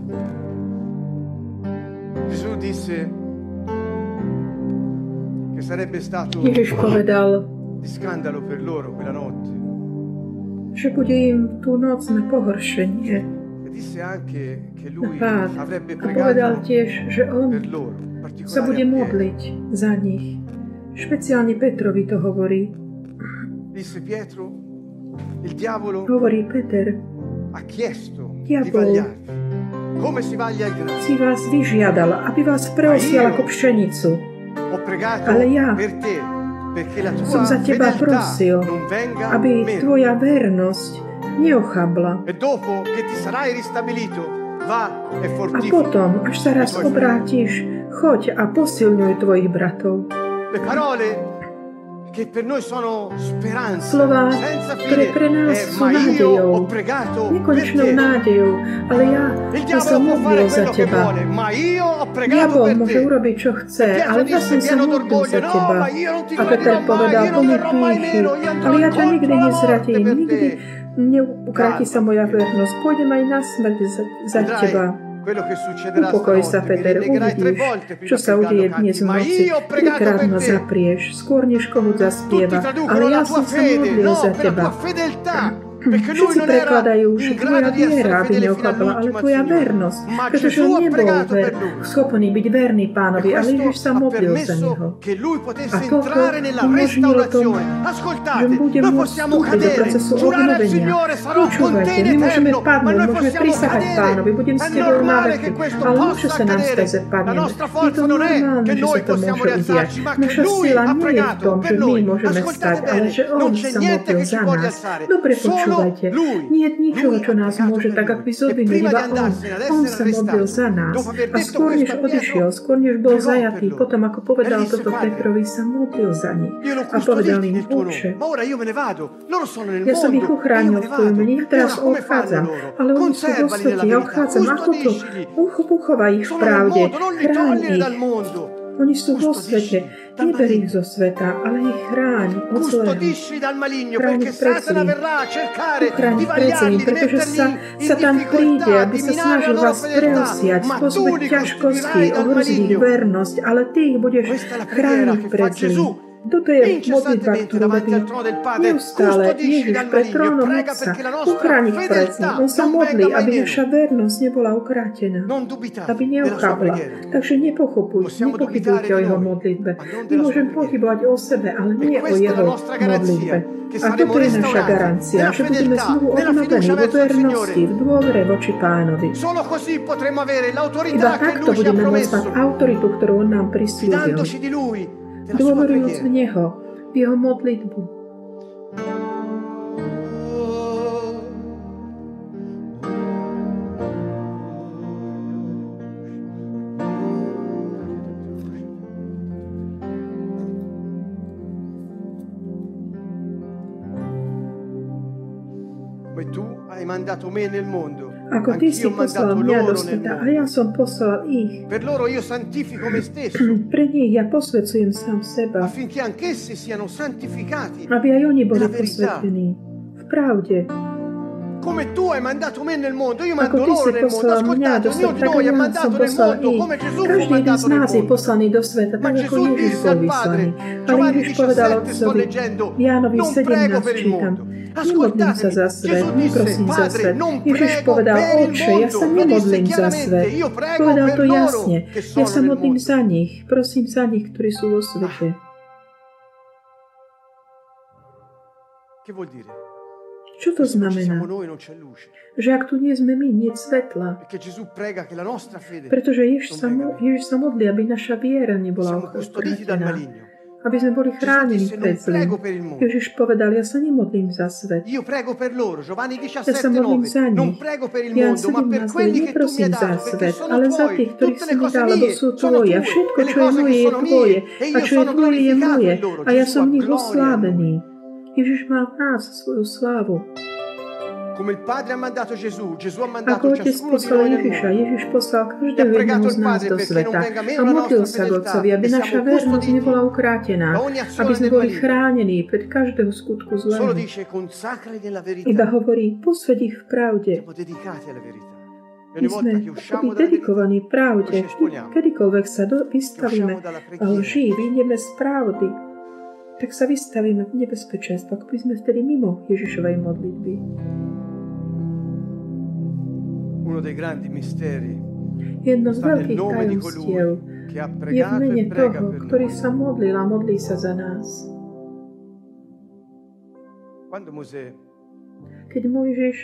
Ježiš povedal, že bude im tú noc na pohoršenie, na pád. A povedal tiež, že on sa bude modliť za nich. Špeciálne Petrovi to hovorí. Hovorí Peter, diabol si vás vyžiadal, aby vás preosial ako pšenicu. Ale ja som za teba prosil, aby tvoja vernosť neochabla. A potom, až sa raz obrátiš, choď a posilňuj tvojich bratov. Slová, ktoré pre nás sú nádejou, nekonečnou nádejou, ale ja som modlil za teba. Diabol môže urobiť, čo chce, ale ja som sa modlil za teba. A Peter povedal, plný pýchy, ale ja ťa nikdy nezradím, nikdy neukráti sa moja vernosť, pôjdem aj na smrť za teba. Upokoj sa, Peter, uvidíš, čo sa udeje dnes v noci. 3-krát ma zaprieš, skôr než komu zaspieva, ale ja som sa modlil za teba. Všetci prekladajú, že tvoja viera, aby neochabla, ale tvoja vernosť, pretože on nebol schopný byť verný pánovi, ale Ježiš sa modlil za neho. A toto umožnilo tomu, že bude môcť vstúpiť do procesu obnovenia. Počúvajte, my môžeme padnúť, môžeme prisahať pánovi, budem s tebou na veky, ale môže sa nám stať, že padneme. Je to normálne, že sa to môže udiať. Naša sila nie je v tom, že my môžeme stať, ale že on sa modlil za nás. Dobre počúvajte. Nie je ničoho, čo nás môže tak, ak by zodvinul, iba on. On sa modlil za nás. A skôr, než odišiel, skôr, než bol zajatý, potom, ako povedal toto Petrovi, sa modlil za nich. A povedal im, Otče, ja som ich uchránil v tvojom mene, ja teraz odchádzam, ale oni sú vo svete, ja odchádzam. Ako to? Uchovaj ich v pravde, chráň ich. Oni sú vo svete. Neber ich zo sveta, ale ich chráň od zlého. Chráň ich pred zlým. Uchráň ich pred zlým, pretože sa tam príde, aby sa snažil vás preosiať, spôsobiť ťažkosti, ohroziť ich vernosť, ale ty ich budeš chrániť pred zlým. Toto je modlitba, ktorú robí neustále Ježiš pred trónom Otca. Uchráň ich pred ním. On sa modlí, aby naša vernosť nebola ukrátená, aby neochabla. Takže nepochybujte o jeho modlitbe. My môžeme pochybovať o sebe, ale nie o jeho modlitbe. A toto je naša garancia, že budeme znovu obnovení vo vernosti, v dôvere voči Pánovi. Iba takto budeme môcť mať autoritu, ktorú on nám prisľúbil. Dôverujúc v Neho, v Jeho modlitbu. Ako ty si poslal mňa do sveta a ja som poslal ich. Pre nich ja posvedcujem sám seba, aby aj oni boli posvetení v pravde. Ako ty si poslal mňa do sveta, tak ja som poslal ich. Každý jeden z nás je poslaný do sveta, tak ako Ježiš bol vyslaný. Ale Ježiš povedal Otcovi, v Jánovi 17 čítam, nemodlím sa za svet, neprosím za svet. Ježiš povedal, Otče, ja sa nemodlím za svet. Povedal to jasne, ja sa modlím za nich, prosím za nich, ktorí sú vo svete. Čo to znamená? Že ak tu nie sme my, nie je svetla. Pretože Ježiš sa modlí, aby naša viera nebola ukrátená. Aby sme boli chránení pred zlým. Ježiš povedal, ja sa nemodlím za svet. Ja sa modlím za nich. Ja 17 neprosím za svet, ale za tých, ktorých si mi dal, lebo sú tvoje. A všetko, čo je moje, je tvoje. A čo je tvoje, je moje. A ja som v nich oslávený. Ježiš má v nás svoju slávu. Ako Otec poslal Ježiša, Ježiš poslal každého jedného z nás do sveta a modlil sa k Otcovi, aby naša vernosť nebola ukrátená, aby sme boli chránení pred každého skutku zlého. Iba hovorí, posväť ich v pravde. My sme akoby dedikovaní pravde. Kedykoľvek sa vystavíme lži, vyjdeme z pravdy, tak sa vystavíme v nebezpečenstvu, ako by sme vtedy mimo Ježišovej modlitby. Jedno z veľkých tajomstiev je v mene toho, ktorý sa modlil a modlí sa za nás. Keď Mojžiš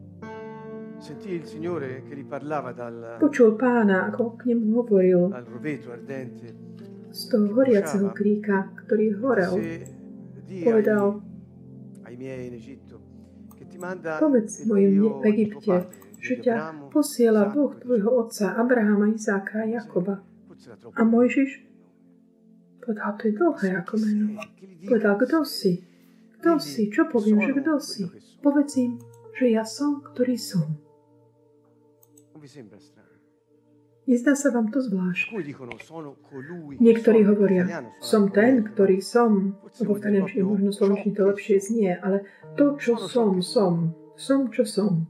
počul Pána, ako k nemu hovoril z toho horiaceho kríka, ktorý horel, povedal: povedz mojim v Egypte, že ťa posiela Boh tvojho otca Abrahama, Izáka a Jakoba. A Mojžiš povedal: to je dlhé ako meno. Povedal: kto si? Kto si? Čo poviem, že kto si? Povedz im, že ja som, ktorý som. Nezdá sa vám to zvláštne? Niektorí hovoria: som ten, ktorý som. Lebo v taliančine možno slovenčine to lepšie znie, ale to, čo som, som. Som, čo som.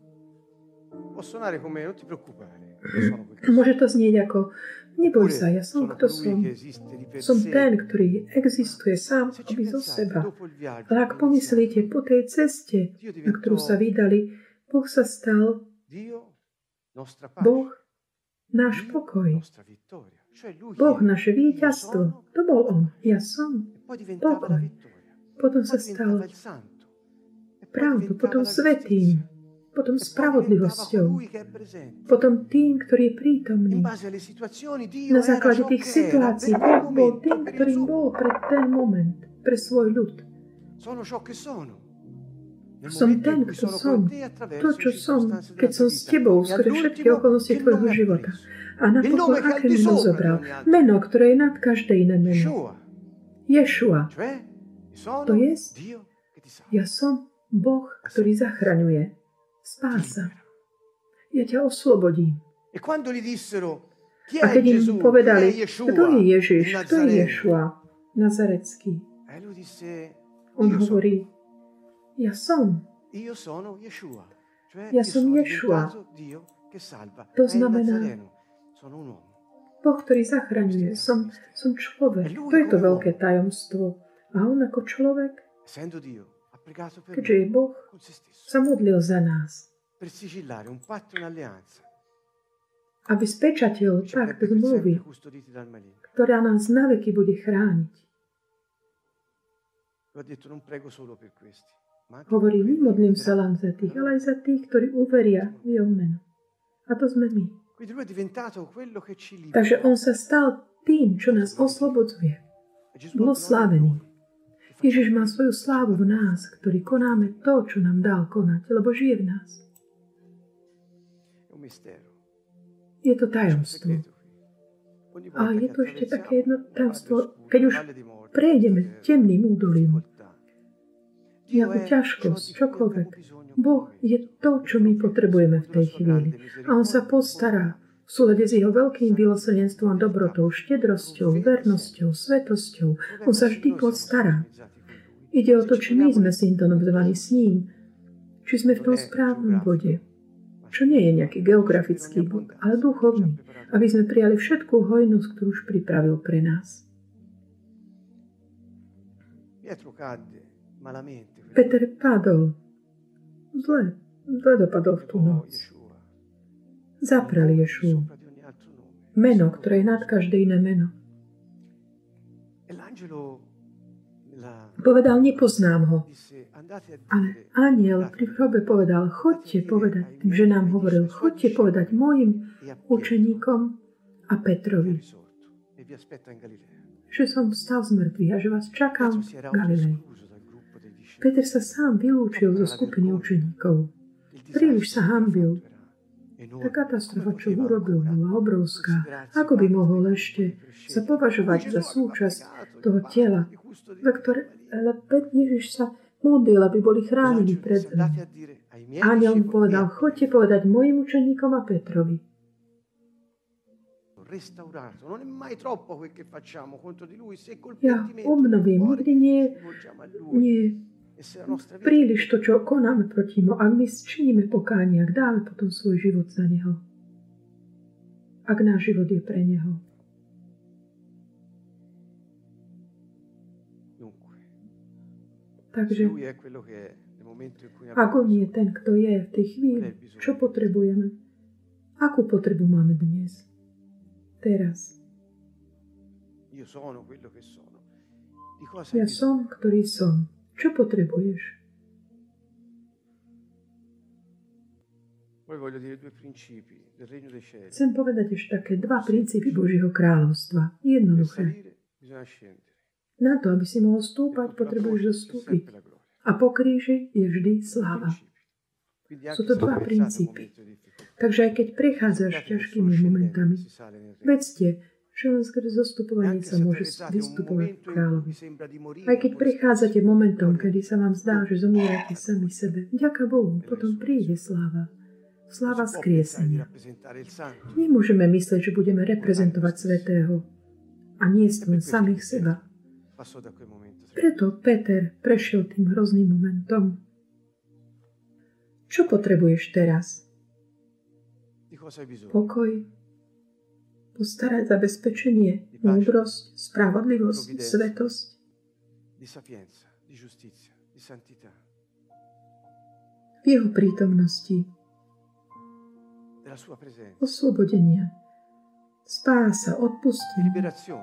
Môže to znieť ako: neboj sa, ja som, kto som. Som ten, ktorý existuje sám akoby zo seba. Ale ak pomyslíte, po tej ceste, na ktorú sa vydali, Boh sa stal Boh náš pokoj. Boh naše víťazstvo. To bol on. Ja som pokoj. Potom sa stal pravdou, potom svätým, potom spravodlivosťou, potom tým, ktorý je prítomný. Na základe tých situácií Boh bol tým, ktorým bol pre ten moment, pre svoj ľud. Som ten, kto som. To, čo som, keď som s tebou, skôr všetky okolnosti tvojho života. A napokon, aké meno zobral? Meno, ktoré je nad každé iné meno. Ješua. To je, ja som Boh, ktorý zachraňuje. Spása. Ja ťa oslobodím. A keď im povedali: kto je Ježiš, kto je Ješua, Nazarecký, on hovorí: ja som. Ja som Ješua. To znamená Boh, ktorý zachraňuje. Som človek. To je to veľké tajomstvo. A on ako človek, keďže je Boh, sa modlil za nás. Aby spečatil pakt zmluvy, ktorá nás naveky bude chrániť. Hovorí: nemodlím sa len za tých, ale aj za tých, ktorí uveria v jeho meno. A to sme my. Takže on sa stal tým, čo nás oslobodzuje. Bol slávený. Ježiš má svoju slávu v nás, ktorí konáme to, čo nám dal konať, lebo žije v nás. Je to tajomstvo. A je to ešte také jedno tajomstvo, keď už prejdeme temným údolím, nejakú ťažkosť, čokoľvek. Boh je to, čo my potrebujeme v tej chvíli. A on sa postará v súlade s jeho veľkým milosrdenstvom, dobrotou, štedrosťou, vernosťou, svetosťou. On sa vždy postará. Ide o to, či my sme syntonizovaní s ním, či sme v tom správnom bode. Čo nie je nejaký geografický bod, ale duchovný, aby sme prijali všetkú hojnosť, ktorú už pripravil pre nás. Peter padol. Zle dopadol v tú noc. Zaprel Ješua. Meno, ktoré je nad každé iné meno. Povedal: nepoznám ho. Ale anjel pri hrobe povedal: chodte povedať, tým ženám hovoril, chodte povedať mojim učeníkom a Petrovi, že som vstal z mŕtvych a že vás čakám v Galilei. Peter sa sám vylúčil zo skupiny učeníkov. Príliš sa hanbil. Tá katastrofa, čo urobil, bola obrovská. Ako by mohol ešte sa považovať za súčasť toho tela, za ktoré Ježiš sa modlil, aby boli chránení pred zlým. Anjel mu povedal: chodte povedať mojim učeníkom a Petrovi. Ja obnovím. Nikdy nie príliš to, čo konáme proti mu. Ak my činíme pokánie, ak dáme potom svoj život za neho. ak náš život je pre Neho. Takže, ak On je ten, kto je v tej chvíli, čo potrebujeme? Akú potrebu máme dnes? Teraz. Ja som, ktorý som. Čo potrebuješ? Chcem povedať ešte také dva princípy Božieho kráľovstva. Jednoduché. Na to, aby si mohol stúpať, potrebuješ zostúpiť. A po kríži je vždy sláva. Sú to dva princípy. Takže aj keď prechádzaš ťažkými momentami, vedzte, že len skrz zostupovanie sa môže vystupovať v kráľovi. Aj keď prechádzate momentom, kedy sa vám zdá, že zomierate sami sebe, vďaka Bohu, potom príde sláva. Sláva skriesenia. Nemôžeme myslieť, že budeme reprezentovať svätého a nie len samých seba. Preto Peter prešiel tým hrozným momentom. Čo potrebuješ teraz? Pokoj, postarať zabezpečenie, múdrosť, spravodlivosť, svetosť. V jeho prítomnosti oslobodenia, spása, odpustenie,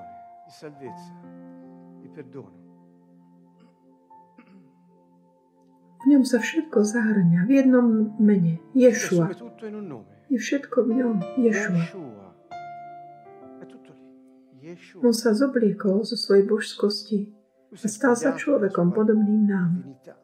v ňom sa všetko zahrňa v jednom mene. Ješua. Je všetko v ňom. Ješua. On sa zobliekol zo svojej božskosti a stal sa človekom podobným nám.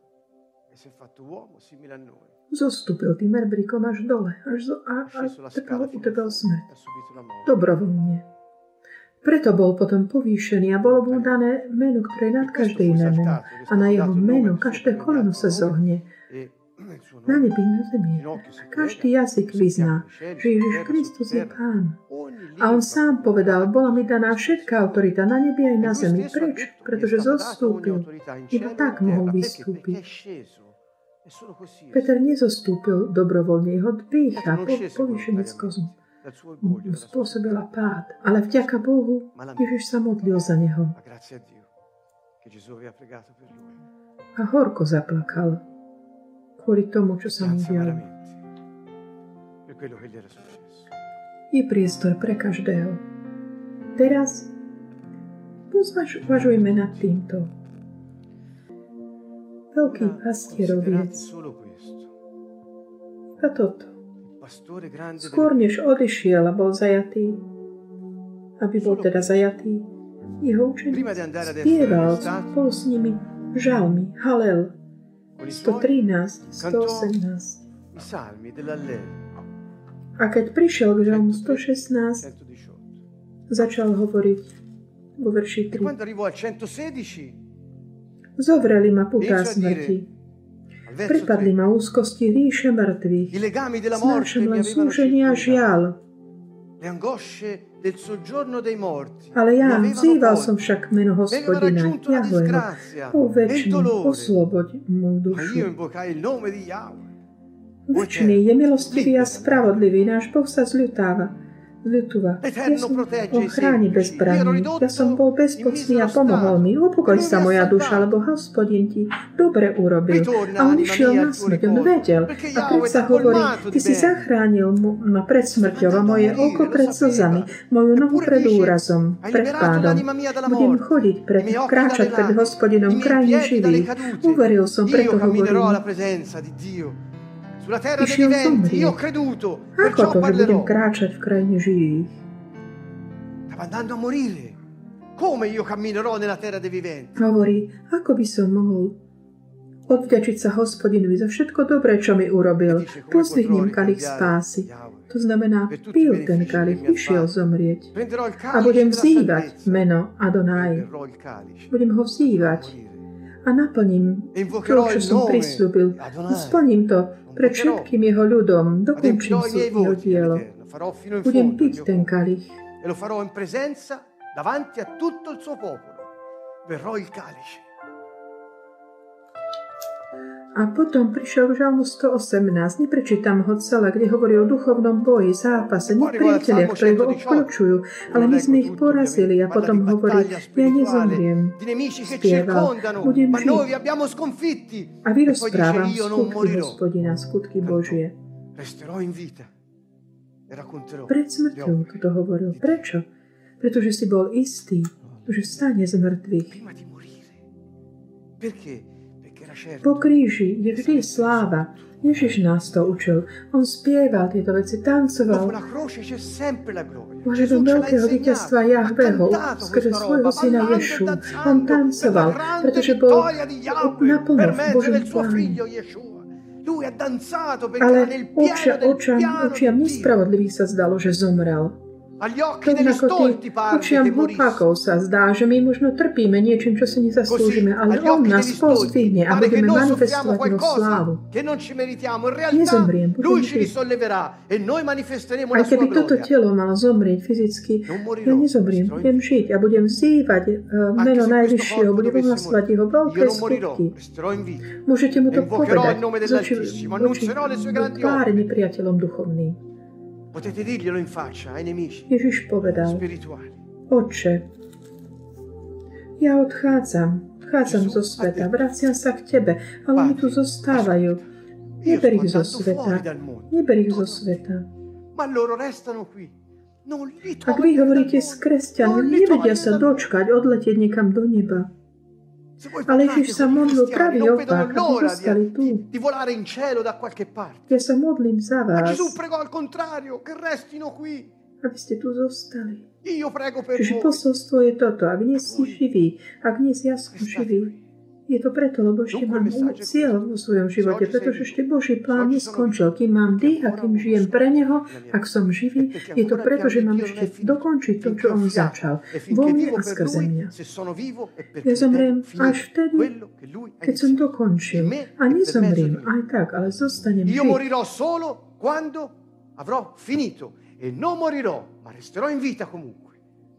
Zostúpil tým erbrikom až dole, až utrpel smrť. Dobrovoľne. Preto bol potom povýšený a bolo mu dané meno, ktoré je nad každé iné meno. A na jeho meno každé koleno sa zohne. Na nebi, na zemi. Každý jazyk vyzná, že Ježiš Kristus je Pán. A on sám povedal, bola mi daná všetká autorita na nebi aj na zemi. Prečo? Pretože zostúpil. Iba tak mohol vystúpiť. Peter nezostúpil dobrovoľne, jeho dýcha, povýšenec kozmu spôsobila pád, ale vďaka Bohu Ježiš sa modlil za neho. A horko zaplakal kvôli tomu, čo sa mu dialo. Je priestor pre každého. Teraz uvažujme nad týmto. Veľký pastieroviec. A toto. Skôr než odišiel a bol zajatý, aby bol teda zajatý, jeho učeník spieval spolu s nimi žalmy, halel, 113, 118. A keď prišiel k žalmu 116, začal hovoriť vo verši 3. Zovreli ma putá smrti. Prepadli ma úzkosti ríše mŕtvych. Znášam len súženie a žiaľ. Ale ja vzýval som však meno Hospodina, Jahveho. O večný, osloboď moju dušu. Večný je milostivý a spravodlivý, náš Boh sa zľutúva. Ja som bol chráni bezbranný, ja som bol bezpocný a pomohol mi. Upokoj sa moja duša, lebo Hospodin ti dobre urobil. A on išiel na smrť, on vedel. A predsa hovorí, ty si zachránil ma pred smrťou a moje oko pred slzami, moju nohu pred úrazom, pred pádom. Budem chodiť, kráčať pred Hospodinom v krajine živých. Uveril som, preto hovorím. Išiel zomrieť. Ako to, že budem kráčať v krajine živých? Hovorí, ako by som mohol odvďačiť sa Hospodinovi za všetko dobré, čo mi urobil. Pozdvihnem kalich spásy. To znamená, pil ten kalich, išiel zomrieť. A budem vzývať meno Adonaj. Budem ho vzývať. A naplním to, čo som prisľúbil. Splním to pred všetkým jeho ľudom. Dokončím jeho dielo. Budem piť ten kalich. A A potom prišiel k Žalmu 118, neprečítam ho celé, kde hovorí o duchovnom boji, zápase, nepriatelia, ktorí ho obkľúčujú, ale my sme ich porazili. A potom hovorí, ja nezomriem, spieval, budem žiť. A vyrozprávam skutky Hospodina, skutky Božie. Pred smrťou toto hovoril. Prečo? Pretože si bol istý, že vstane z mŕtvych. Po kríži je vždy sláva. Ježiš nás to učil. On spieval tieto veci, tancoval. Ohľadom veľkého víťazstva Jahveho skrze svojho syna Ješu. On tancoval, pretože bol naplno v Božom pláne. Ale očiam nespravodlivých sa zdalo, že zomrel. Rovnako tým očiam hlupákov sa zdá, že my možno trpíme niečím, čo si nezaslúžime, ale on nás pozdvihne a budeme manifestovať jeho slávu. Nezomriem, budem žiť. Aj keby toto telo malo zomrieť fyzicky, ja nezomriem, budem žiť a budem vzývať meno Najvyššieho, budem ohlasovať jeho veľké skutky. Môžete mu to povedať z očí tváre nepriateľom duchovným. Ježiš povedal, Otče, ja odchádzam zo sveta, vraciam sa k Tebe, ale oni tu zostávajú. Neber ich zo sveta. Ak vy hovoríte s kresťanmi, nevedia sa dočkať, odletieť niekam do neba. Ale Ježiš sa modlil pravý opak, aby zostali tu. Ja sa modlím za vás, aby ste tu zostali. Čiže posolstvo je toto. Ak nie si živý, ak nie si ja som živý, je to preto, lebo ešte mám cieľ vo svojom živote, pretože ešte Boží plán neskončil. Kým mám dých a kým žijem pre Neho, ak som živý, je to preto, že mám ešte dokončiť to, čo On začal. Vo mne a skrze mňa. Ja zomriem až vtedy, keď som dokončil. A nezomriem aj tak, ale zostanem žiť. Io morirò solo quando avrò finito e non morirò, ma resterò in vita comunque.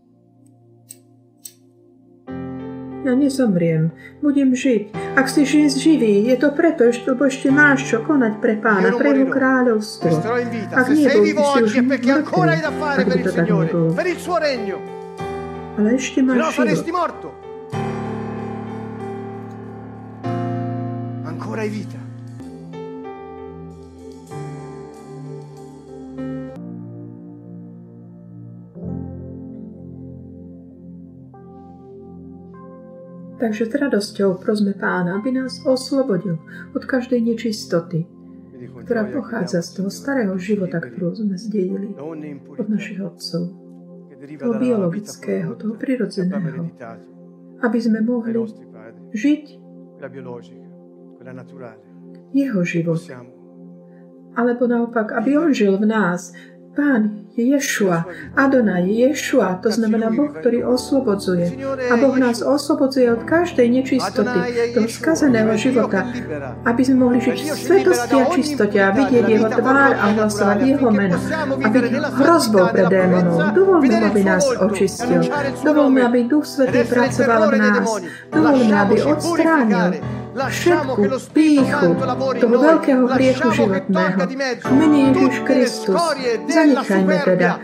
Ja nezomriem, budem žiť. Ak si živý, je to preto, lebo ešte máš čo konať pre Pána, pre Jeho kráľovstvo. Ak nie, bol by si už mŕtvy, ak by to tak nebolo. Ale ešte máš život. Ancora hai vita. Takže s radosťou prosme Pána, aby nás oslobodil od každej nečistoty, ktorá pochádza z toho starého života, ktorú sme zdedili od našich otcov, toho biologického, toho prirodzeného, aby sme mohli žiť jeho život. Alebo naopak, aby on žil v nás. Pán je Ješua, Adonaj je Ješua, to znamená Boh, ktorý oslobodzuje. A Boh nás oslobodzuje od každej nečistoty, toho skazeného života, aby sme mohli žiť v svetosti a čistote a vidieť jeho tvár a hlasovať jeho meno a byť hrozbou pre démonov. Dovolme, aby nás očistil. Dovolme, aby Duch Svätý pracoval v nás. Dovolme, aby odstránil všetku pýchu toho veľkého hriechu životného. V mene Ježiš Kristus zanechajme teda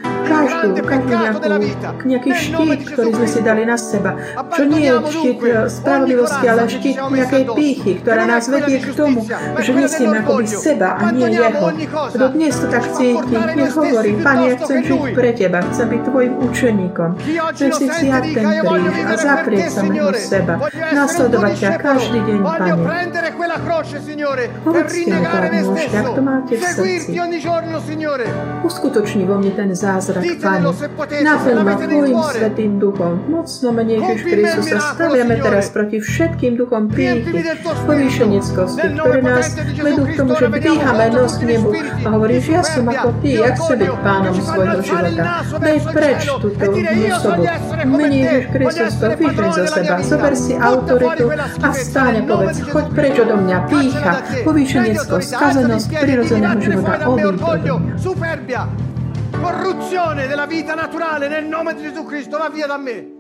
nejaký štít, ktorý sme si dali na seba. Čo nie je štít spravodlivosti, ale štít nejakej pýchy, ktorá nás vedie k tomu, že nesieme akoby seba a nie jeho. Kto dnes to tak cíti, nech hovorí, Pane, ja chcem žiť pre Teba, chcem byť Tvojim učeníkom. Chcem si vziať ten kríž a zaprieť samého seba. Nasledovať ťa každý deň, Pane. Povedzte mu tak môžete, ak to máte v srdci. Uskutoční vo mne ten zázrak, Pane. Naplň ma Tvojim Svätým Duchom. Mocno mene Ježiš Kristus sa staviame teraz proti všetkým duchom pýchy, povýšeneckosti, ktoré nás vedú k tomu, že dvíhame nos k nebu a hovoríš, ja som ako Ty, ja chcem byť pánom svojho života. Daj preč túto osobu. Mene Ježiš Kristus to vyžeň zo seba. Zober si autoritu a stáň a povedz, choď preč odo mňa, pýcha, povýšeneckosť, skazenosť prirodzeného života, odíď odo mňa. Corruzione della vita naturale nel nome di Gesù Cristo, va via da me.